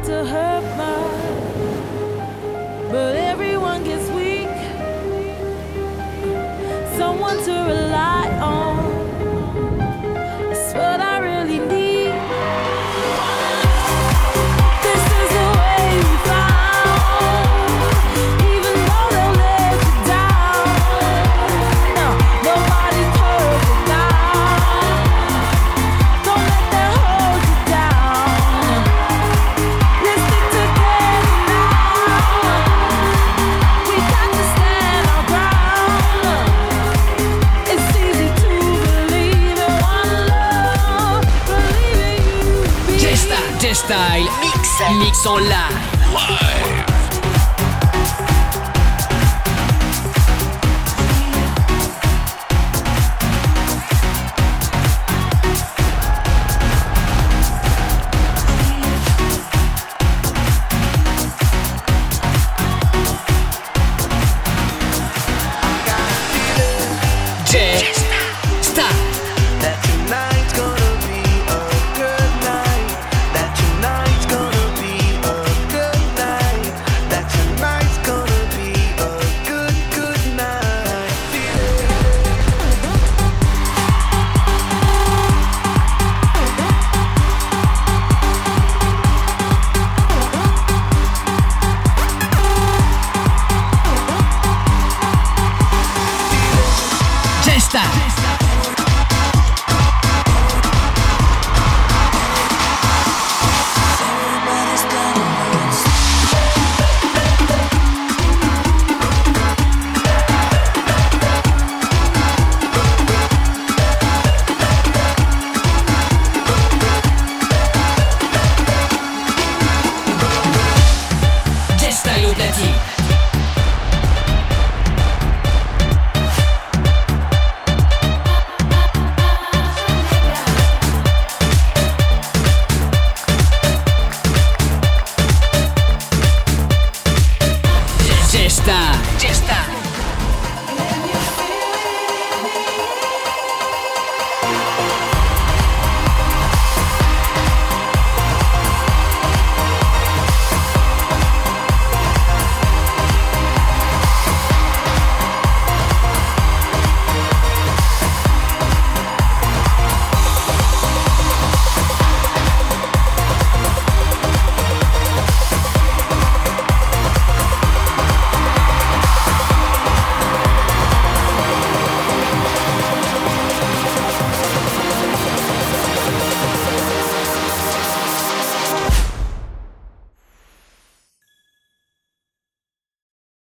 to hurt much, but everyone gets weak. Someone to rely on. It's what I really need. This is the way we found. Even though they'll let you down, no, nobody's perfect now. Don't let that hold you down. Let's stick together now. We got to stand our ground. It's easy to believe in one love, believing you. J-Style Mix en live.